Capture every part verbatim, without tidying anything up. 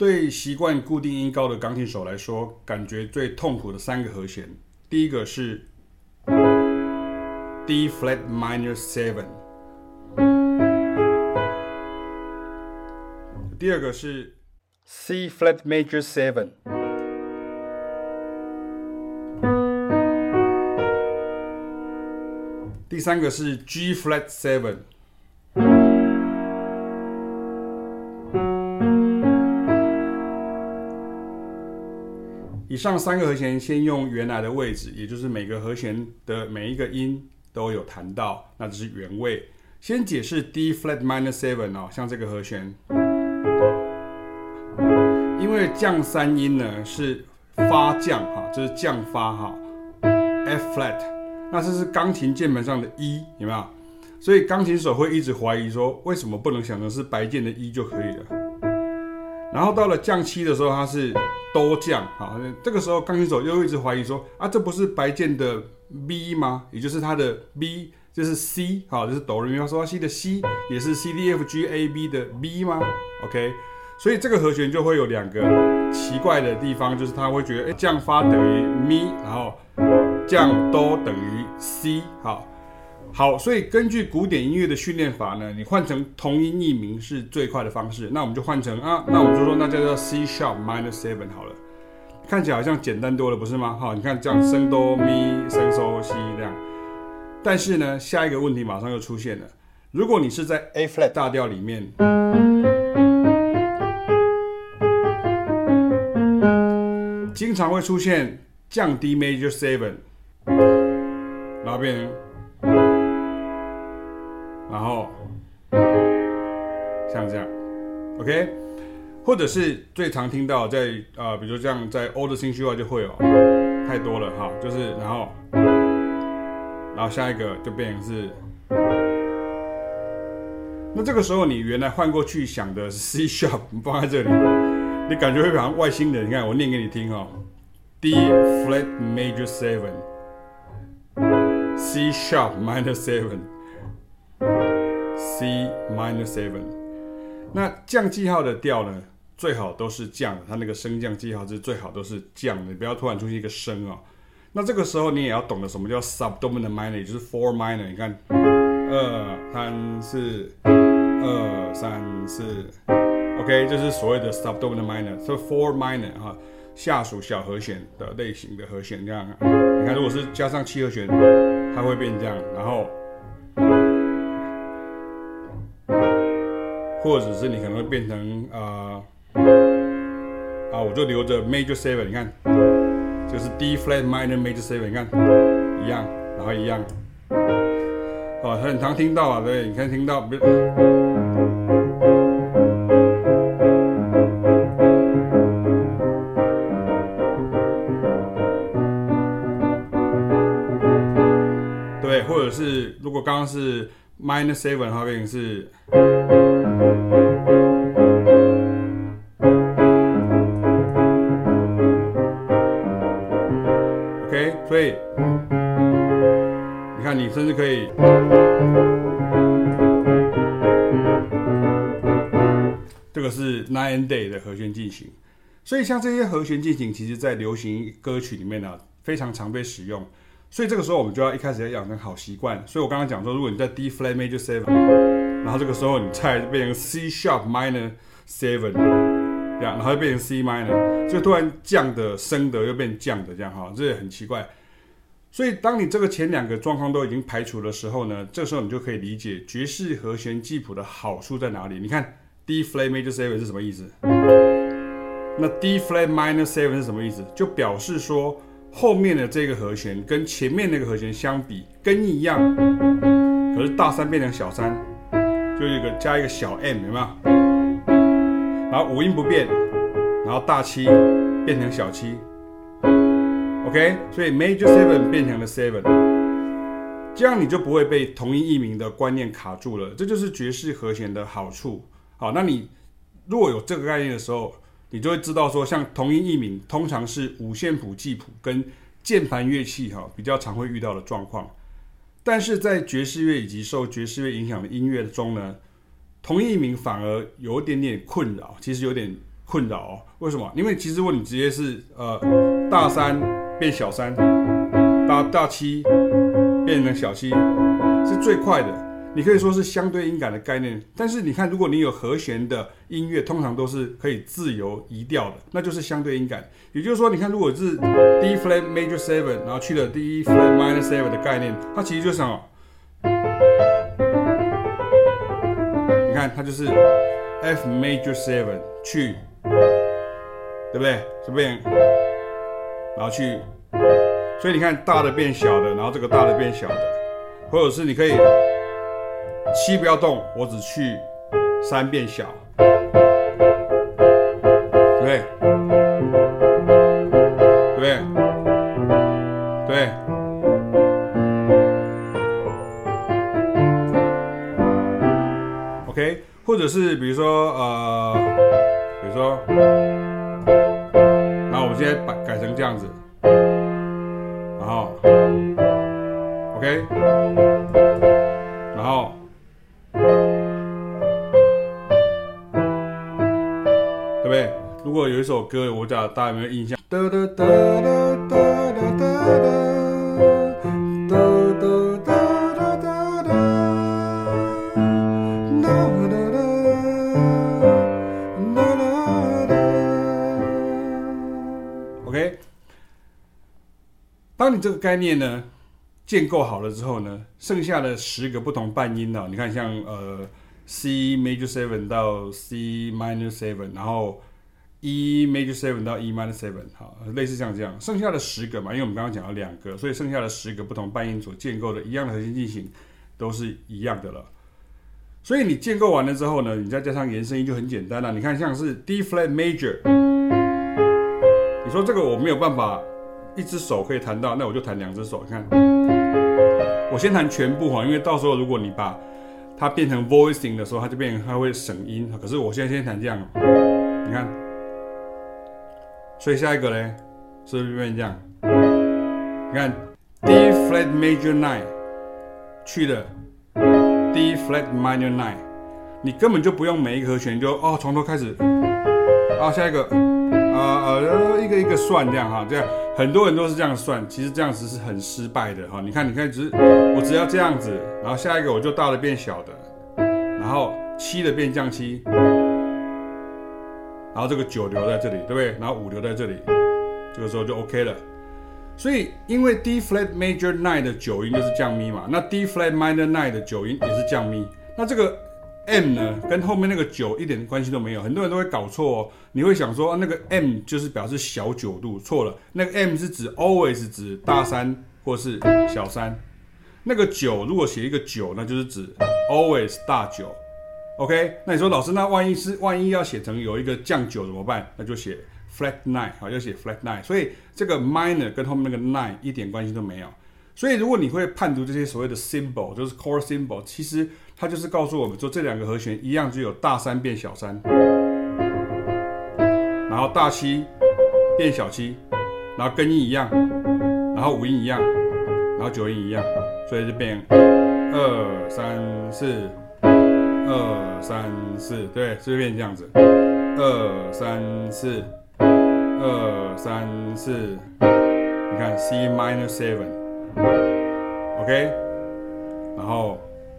對習慣固定音高的鋼琴手來說，感覺最痛苦的三個和弦，第一個是 D flat minor seven， 第二個是 C flat major seven， 第三個是 G flat seven。以上三個和弦先用原來的位置，也就是每個和弦的每一個音都有彈到，那這是原位。先解釋 D flat minor seven 哦，像這個和弦，因為降三音呢是發降哈，這是降發哈 ，F flat， 那這是鋼琴鍵盤上的 E， 有沒有？所以鋼琴手會一直懷疑說，為什麼不能想成是白鍵的 E 就可以了？然後到了降七的時候，它是哆降，好，這個時候鋼琴手又一直懷疑說，啊，這不是白鍵的 B 嗎？也就是它的 B， 就是 C， 好，這是哆來咪發嗦拉西的 C， 也是 C D F G A B 的 B 嗎 ？OK， 所以這個和弦就會有兩個奇怪的地方，就是他會覺得，哎，降發等於咪，然後降哆等於 C， 好。好，所以根據古典音樂的訓練法呢，你換成同音異名是最快的方式。那我們就換成啊，那我們就說那就叫 C sharp minor seven 好了，看起來好像簡單多了，不是嗎？好，你看這樣升哆咪升嗦西這樣。但是呢，下一個問題馬上又出現了。如果你是在 A flat 大調裡面，經常會出現降 D major seven， 然後變成。然後像這樣 ，OK， 或者是最常聽到在呃，比如這樣在歐的新區話就會有太多了哈，就是然後然後下一個就變成是，那這個時候你原來換過去想的是 C sharp， 你放在這裡，你感覺會好像外星人。你看我念給你聽哈 ，D flat major seven，C sharp minor seven。C minor seven， 那降記號的調呢，最好都是降的，它那個升降記號是最好都是降的，你不要突然出現一個升哦。那這個時候你也要懂得什麼叫 subdominant minor， 也就是 four minor。你看，二三四，二三四 ，OK， 這是所謂的 subdominant minor， 所以 four minor 哈，下屬小和弦的類型的和弦這樣。你看，如果是加上七和弦，它會變這樣，然後。或者是你可能會變成啊、呃、啊，我就留着 major seven， 你看，就是 D flat minor major seven， 你看一樣，然後一樣，哦，很常聽到啊，對，你看聽到，对，或者是如果剛剛是 minor seven 的話，變成是。OK， 所以你看，你甚至可以，這個是 night and day 的和弦進行。所以像這些和弦進行，其實在流行歌曲裡面呢、啊，非常常被使用。所以這個時候我們就要一開始要養成好習慣。所以我剛剛講說，如果你在 D flat major seven， 然後這個時候你再變成 C sharp minor seven， 這樣，然後又變成 C minor， 就突然降的升的又變降的這樣哈，這也很奇怪。所以當你這個前兩個狀況都已經排除的時候呢，這個時候你就可以理解爵士和弦記譜的好處在哪裡。你看 D flat major seven 是什麼意思？那 D flat minor seven 是什麼意思？就表示說後面的這個和弦跟前面那個和弦相比，根一樣，可是大三變成小三，就一個加一個小 m， 有沒有？然後五音不變，然後大七變成小七 ，OK， 所以 major seven 變成了 seven， 這樣你就不會被同音異名的觀念卡住了。這就是爵士和弦的好處。好，那你如果有這個概念的時候，你就會知道說，像同音異名通常是五線譜記譜跟鍵盤樂器哈比較常會遇到的狀況。但是在爵士樂以及受爵士樂影響的音樂中呢，同音異名反而有一點點困擾，其實有點困擾哦。為什麼？因為其實如果你直接是呃大三變小三，大大七變成小七，是最快的。你可以說是相對音感的概念，但是你看，如果你有和弦的音樂，通常都是可以自由移調的，那就是相對音感。也就是說，你看，如果是 D flat major seven， 然後去了 D flat minor seven 的概念，它其實就是什麼？你看，它就是 F major seven 去，對不對？這邊，然後去，所以你看，大的變小的，然後這個大的變小的，或者是你可以。七不要動，我只去三變小，對不對？對不对？對。OK， 或者是比如說呃，比如說，然後我們現在把改成這樣子，然後 OK， 然後。對不對？如果有一首歌，我講大家有沒有印象？噠噠噠噠噠噠噠噠。OK， 當你這個概念呢建構好了之後呢，剩下的十個不同半音呢，你看像呃。C major seven 到 C minor seven， 然後 E major seven 到 E minor seven， 好，類似像這樣，剩下的十個嘛，因為我們剛剛講了兩個，所以剩下的十個不同半音所建構的一樣的和弦進行都是一樣的了。所以你建構完了之後呢，你再加上延伸音就很簡單了。你看像是 D flat major， 你說這個我沒有辦法一隻手可以彈到，那我就彈兩隻手。你看，我先彈全部哈，因為到時候如果你把它變成 voicing 的時候，它就變成它會省音。可是我現在先彈這樣，你看，所以下一個呢，是不是變成這樣？你看 D flat major nine 去了 D flat minor nine， 你根本就不用每一個和弦就哦從頭開始啊，下一個啊呃一個一個算這樣哈，這樣很多人都是這樣算，其實這樣子是很失敗的哈。你看，你看，只是我只要這樣子，然後下一個我就大的變小的，然後七的變降七，然後這個九留在這裡，對不對？然後五留在這裡，這個時候就 OK 了。所以因為 D flat major nine 的九音就是降咪嘛，那 D flat minor nine 的九音也是降咪，那這個 M 呢跟後面那個九一點關係都沒有，很多人都會搞錯哦。你會想說、啊、那個 M 就是表示小九度，錯了，那個 M 是指 always 指大三或是小三，那個九如果寫一個九，那就是指 always 大九。OK， 那你說老師，那萬一是萬一要寫成有一個降九怎麼辦？那就寫 flat nine， 好，就寫 flat nine。所以這個 minor 跟後面那個 nine 一點關係都沒有。所以如果你會判讀這些所謂的 symbol， 就是 chord symbol， 其實它就是告訴我們說這兩個和弦一樣，只有大三變小三，然後大七變小七，然後根音一樣，然後五音一樣，然後九音一樣，所以就變二三四，二三四，對，是不是變這樣子？二三四，二三四，你看 C minor seven。OK， 然後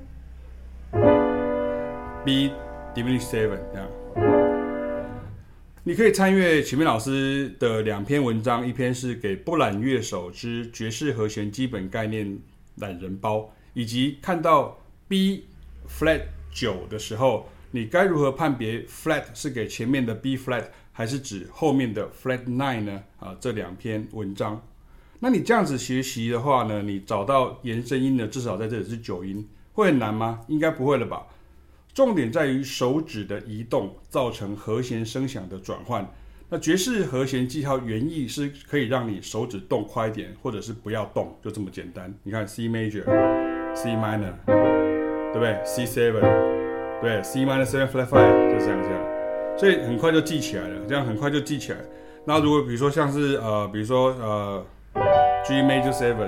B diminished seven 這樣，你可以參閱啟明老師的兩篇文章，一篇是給不懶樂手之爵士和弦基本概念懶人包，以及看到 B flat 九的時候，你該如何判別 flat 是給前面的 B flat 還是指後面的 flat nine 呢？啊，這兩篇文章。那你這樣子學習的話呢，你找到延伸音呢，至少在這裡是九音，會很難嗎？應該不會了吧。重點在於手指的移動造成和弦聲響的轉換。那爵士和弦記號原意是可以讓你手指動快一點，或者是不要動，就這麼簡單。你看 C major、C minor， 對不對 ？C seven， 對 ，C minor seven flat five 就這樣這樣，所以很快就記起來了，這樣很快就記起來。那如果比如說像是呃，比如說呃。G major seven,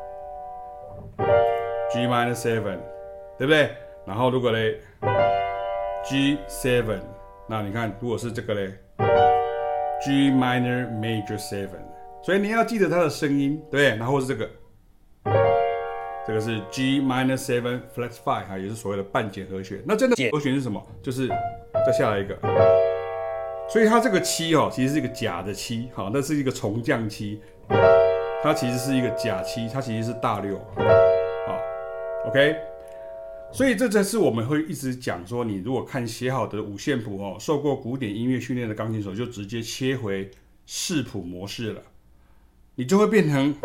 G minor seven， 對不對？然後如果嘞 G seven， 那你看，如果是這個嘞 ，G minor major seven， 所以你要記得它的聲音，對，然後是這個，這個是 G minor seven flat five 啊，也是所謂的半減和弦。那真的和弦是什麼？就是再下來一個，所以它這個七哦，其實是一個假的七，好，那是一個重降七，它其實是一個假七，它其實是大六，好 ，OK。所以這才是我們會一直講說，你如果看寫好的五線譜哦，受過古典音樂訓練的鋼琴手就直接切回視譜模式了，你就會變成，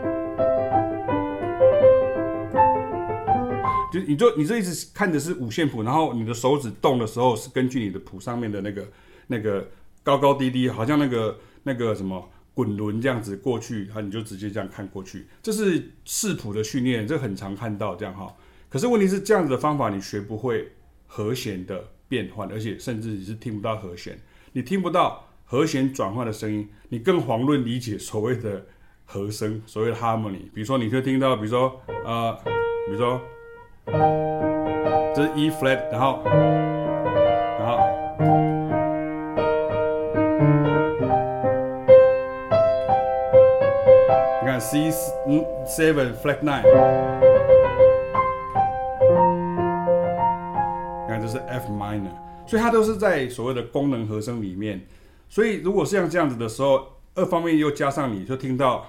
就你就你就一直看的是五線譜，然後你的手指動的時候是根據你的譜上面的那個那個高高低低，好像那個那個什麼滾輪這樣子過去，然後你就直接這樣看過去，這是視譜的訓練，這很常看到這樣哈。可是問題是這樣子的方法你學不會和弦的變換，而且甚至你是聽不到和弦，你聽不到和弦轉換的聲音，你更遑論理解所謂的和聲，所謂的 harmony。比如說你會聽到，比如說呃，比如說這是 E flat， 然後然後你看 C seven flat nine。就是 F minor， 所以它都是在所謂的功能和聲裡面。所以如果是像這樣子的時候，二方面又加上你就聽到，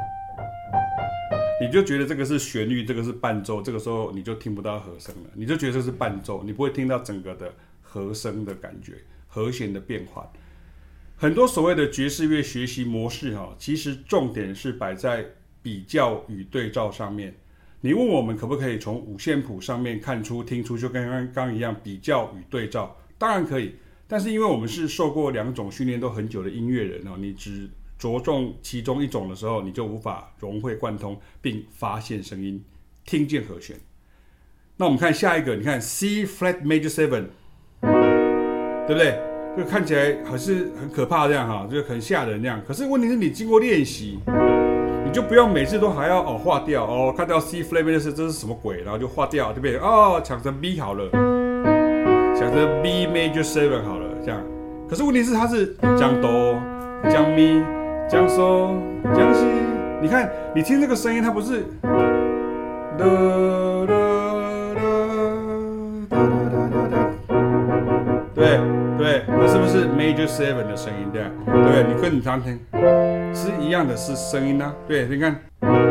你就覺得這個是旋律，這個是伴奏，這個時候你就聽不到和聲了，你就覺得這是伴奏，你不會聽到整個的和聲的感覺，和弦的變換。很多所謂的爵士樂學習模式哈，其實重點是擺在比較與對照上面。你問我們可不可以從五線譜上面看出、聽出，就跟剛剛一樣比較與對照？當然可以，但是因為我們是受過兩種訓練都很久的音樂人哦，你只着重其中一種的時候，你就無法融會貫通，並發現聲音、聽見和弦。那我們看下一個，你看 C flat major seven， 對不對？就看起來還是很可怕這樣哈，就很嚇人這樣。可是問題是你經過練習。你就不用每次都還要哦劃掉哦，看到 C flat major 這是什麼鬼，然後就劃掉，就變成哦搶成 B 好了，搶成 B major seven 好了這樣。可是問題是它是降哆、降咪、降嗦、降西，你看你聽這個聲音，它不是噠噠噠噠噠噠噠，對對，那是不是 major seven 的聲音？對對不對？你跟你常聽。是一樣的，是聲音啊，對，你看，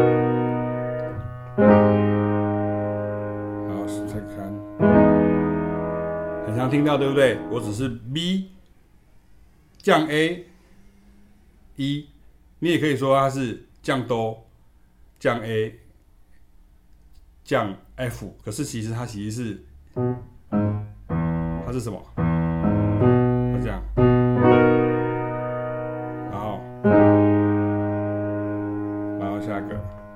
好，再看，很常聽到，對不對？我只是 B 降 A E， 你也可以說它是降哆降 A 降 F， 可是其實它其實是，它是什麼？它這樣。下一個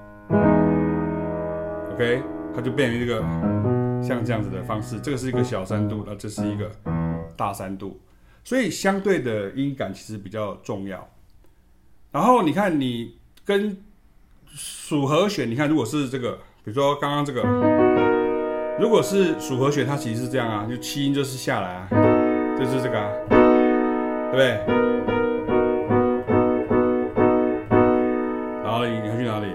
，OK， 它就變成一個像這樣子的方式。這個是一個小三度，那這是一個大三度，所以相對的音感其實比較重要。然後你看，你跟屬和弦，你看如果是這個，比如說剛剛這個，如果是屬和弦，它其實是這樣啊，就七音就是下來啊，就是這個啊，對不對？你會去哪裡？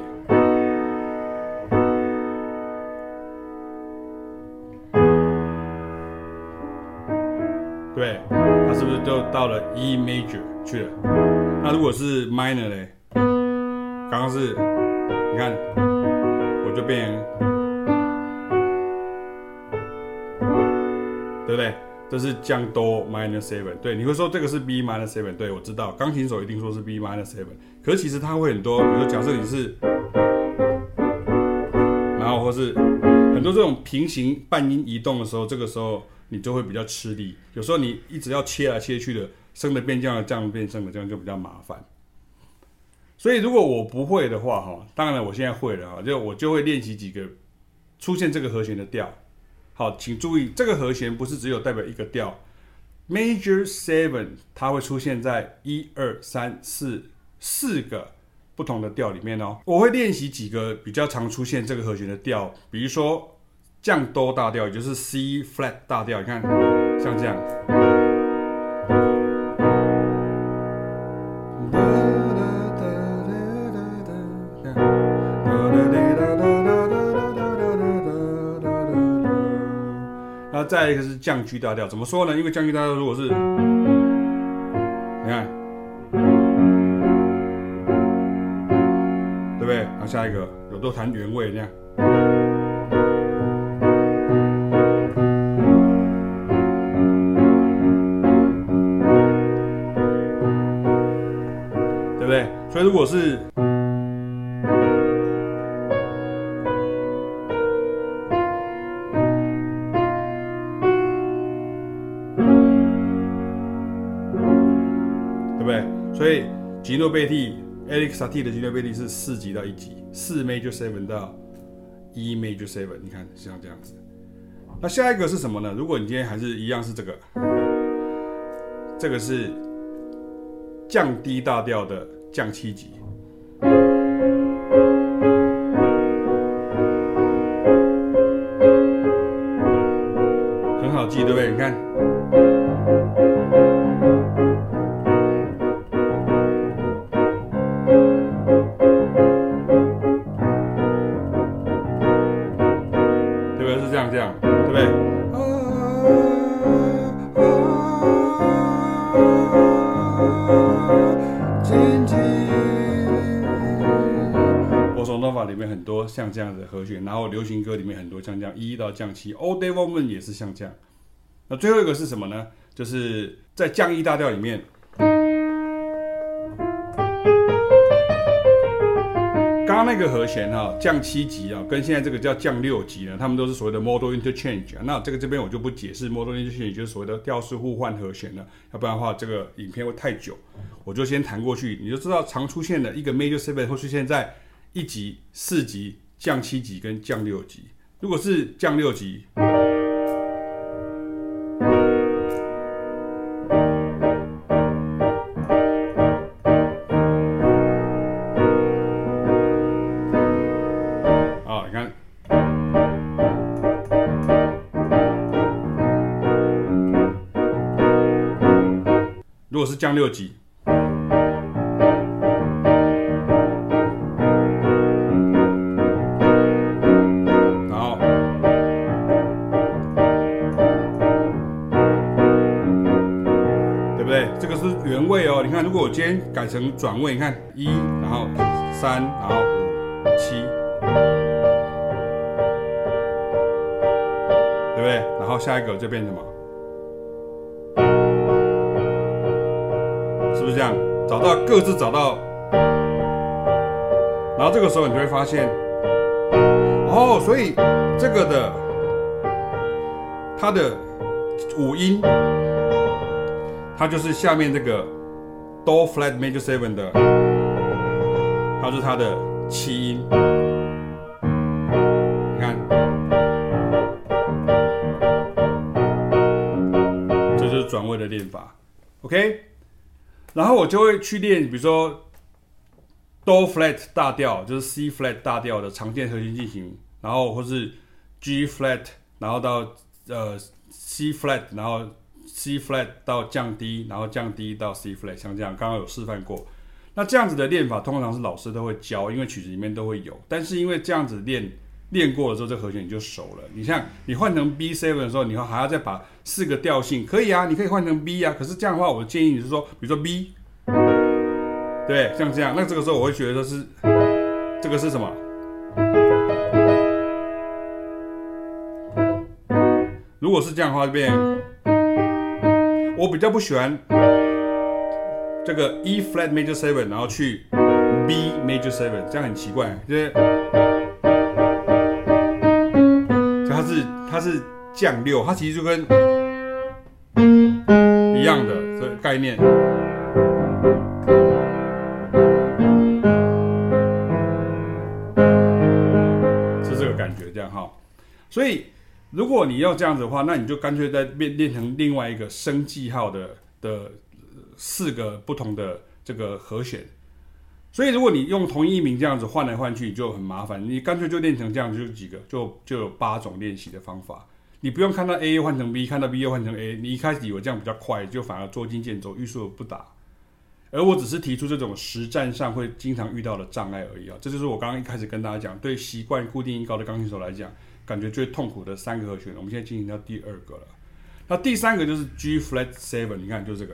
對，它是不是就到了 E major 去了？那如果是 minor 嘞？剛剛是，你看，我就變成，對不對？這是降哆 minor seven， 對，你會說這個是 B minor seven， 對，我知道，鋼琴手一定說是 B minor seven， 可是其實它會很多，比如說假設你是，然後或是很多這種平行半音移動的時候，這個時候你就會比較吃力，有時候你一直要切來切去的，升的變降的，降的變升的，這樣就比較麻煩。所以如果我不會的話，哈，當然我現在會了哈，就我就會練習幾個出現這個和弦的調。好，請注意，這個和弦不是只有代表一個調 ，Major Seven 它會出現在一二三四四個不同的調裡面哦。我會練習幾個比較常出現這個和弦的調，比如說降哆大調，也就是 C flat 大調，你看像這樣， 再來一個是降 G 大調，怎麼說呢？因為降 G 大調如果是，你看，對不對？然後下一個有都彈原位那樣。对不對？所以如果是对不对？所以吉諾貝蒂 Erik Satie 的吉諾貝蒂是四級到一級，四 Major Seven 到一 Major Seven， 你看像這樣子。那下一個是什麼呢？如果你今天還是一樣是這個，這個是降 D 大調的降七級，很好記，对不对？你看。这样，对不对？波索诺瓦裡面很多像這樣的和弦，然後流行歌裡面很多像這樣一到降七 ，All Day Woman 也是像這樣。那最後一個是什麼呢？就是在降一大調裡面。剛剛那個和弦哈，降七級啊，跟現在這個叫降六級呢，他們都是所謂的 modal interchange。那這個這邊我就不解釋 modal interchange 就是所謂的調式互換和弦了，要不然的話這個影片會太久，我就先彈過去，你就知道常出現的一個 major seven 會出現在一級、四級、降七級跟降六級。如果是降六級，如果是降六级，然後，對不對？這個是原位哦。你看，如果我今天改成轉位，你看一，然後三，然後五，七，對不對？然後下一個就變什麼？是不是這樣？找到各自找到，然後這個時候你就會發現，哦，所以這個的它的五音，它就是下面這個 Do Flat Major Seven 的，它是它的七音。你看，這就是轉位的練法 ，OK。然後我就會去練，比如說 Do Flat 大調，就是 C Flat 大調的常見和弦進行，然後或是 G Flat， 然後到呃 C Flat， 然後 C Flat 到降 D， 然後降 D 到 C Flat， 像這樣，剛剛有示範過。那這樣子的練法，通常是老師都會教，因為曲子裡面都會有。但是因為這樣子練練過了之後，這個和弦你就熟了。你像你換成 B 七 的時候，你還要再把四個調性，可以啊，你可以換成 B 啊。可是這樣的話，我建議你是說，比如說 B， 對，像這樣。那這個時候我會覺得說是這個是什麼？如果是這樣的話，就變。我比較不喜歡這個 E flat major seven， 然後去 B major seven， 這樣很奇怪，就是它是它是降六，它其實就跟一樣的這個概念，是這個感覺這樣哈。所以如果你要這樣子的話，那你就乾脆再變練成另外一個升記號的的四個不同的這個和弦。所以如果你用同一名這樣子換來換去，你就很麻煩。你乾脆就練成這樣，就幾個，就就有八種練習的方法。你不用看到 A 換成 B， 看到 B 又換成 A。你一開始以為這樣比較快，就反而捉襟見肘，欲速不達。而我只是提出這種實戰上會經常遇到的障礙而已啊。這就是我剛剛一開始跟大家講，對習慣固定音高的鋼琴手來講， 感覺最痛苦的三個和弦。我們現在進行到第二個了。那第三個就是 G flat seven， 你看就這個。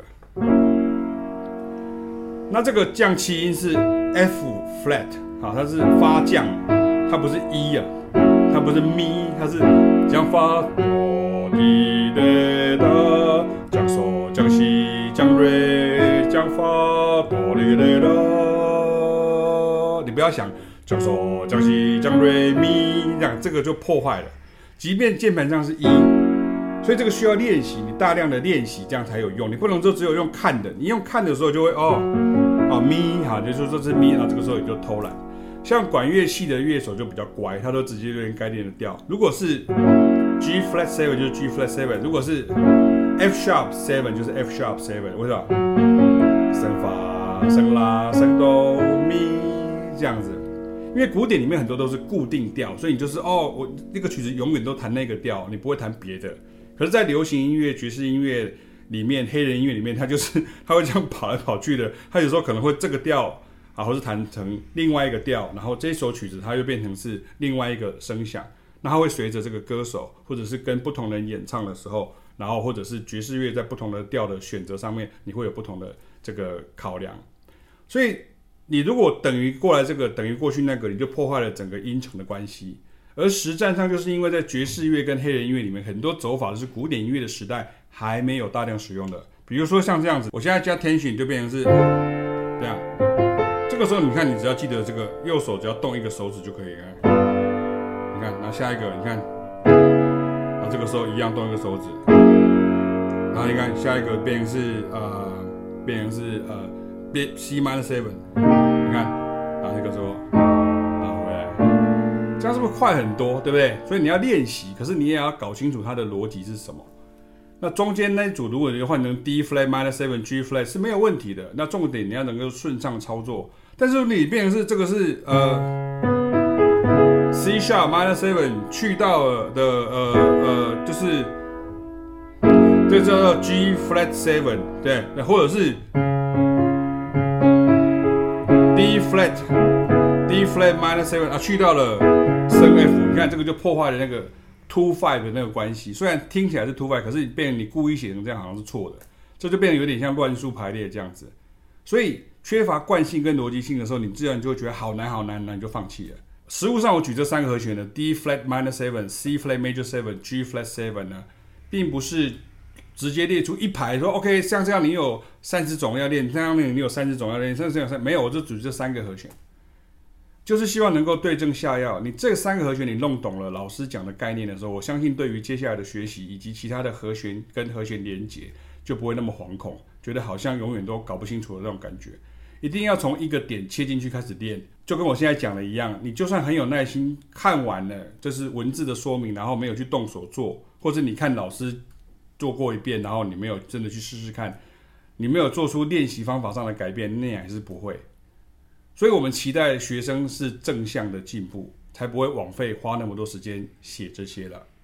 那這個降七音是 F flat， 好，它是發降，它不是 E 啊，它不是咪，它是降發哆滴來哆，降嗦降西降瑞降發哆滴來哆。你不要想降嗦降西降瑞咪，這樣這個就破壞了。即便鍵盤上是 E， 所以這個需要練習，你大量的練習，這樣才有用。你不能就只有用看的，你用看的時候就會哦。哦咪哈，就是說這是咪，然後這個時候也就偷懶。像管樂器的樂手就比較乖，他都直接練該練的調。如果是 G flat seven 就是 G flat seven， 如果是 F sharp seven 就是 F sharp seven， 為什麼？升發、升拉、升哆、咪這樣子。因為古典裡面很多都是固定調，所以你就是哦，我那個曲子永遠都彈那個調，你不會彈別的。可是，在流行音樂、爵士音樂裡面，黑人音樂裡面，他就是他會這樣跑來跑去的。他有時候可能會這個調啊，或是彈成另外一個調，然後這首曲子它又變成是另外一個聲響。那它會隨着這個歌手，或者是跟不同人演唱的時候，然後或者是爵士樂在不同的調的選擇上面，你會有不同的這個考量。所以你如果等於過來這個，等於過去那個，你就破壞了整個音程的關係。而實戰上，就是因為在爵士樂跟黑人音樂裡面，很多走法都是古典音樂的時代還沒有大量使用的。比如說像這樣子，我現在加 tension 就變成是這樣。這個時候你看，你只要記得這個右手只要動一個手指就可以了。你看，然後下一個，你看，然後這個時候一樣動一個手指。然後你看下一個變成是呃，變成是呃，變 C minor seven。你看，然後這個時候。這樣是不是快很多，對不對？所以你要練習，可是你也要搞清楚它的邏輯是什麼。那中間那一組，如果你換成 D flat minor seven G flat 是沒有問題的。那重點你要能夠順暢操作。但是你變成是這個是呃 C sharp minor seven 去到了的呃呃就是這個叫做 G flat seven 對，或者是 D flat D flat minor seven 啊去到了升 F， 你看這個就破壞了那個 two five 的那個關係。雖然聽起來是 two five， 可是變成你故意寫成這樣好像是錯的，這就變得有點像亂數排列這樣子。所以缺乏慣性跟邏輯性的時候，你自然就會覺得好難好難，那你就放棄了。實務上我舉這三個和弦的 D flat minor seven C flat major seven G flat seven 呢，並不是直接列出一排說 OK 像這樣你有三十種要練，這樣你有三十種要練，這樣沒有，我就舉這三個和弦。就是希望能夠對症下藥。你這三個和弦你弄懂了老師講的概念的時候，我相信對於接下來的學習以及其他的和弦跟和弦連結就不會那麼惶恐，覺得好像永遠都搞不清楚的那種感覺。一定要從一個點切進去開始練，就跟我現在講的一樣，你就算很有耐心看完了這是文字的說明，然後沒有去動手做，或者你看老師做過一遍，然後你沒有真的去試試看，你沒有做出練習方法上的改變，那還是不會。所以我們期待學生是正向的進步，才不會枉費花那麼多時間寫這些了。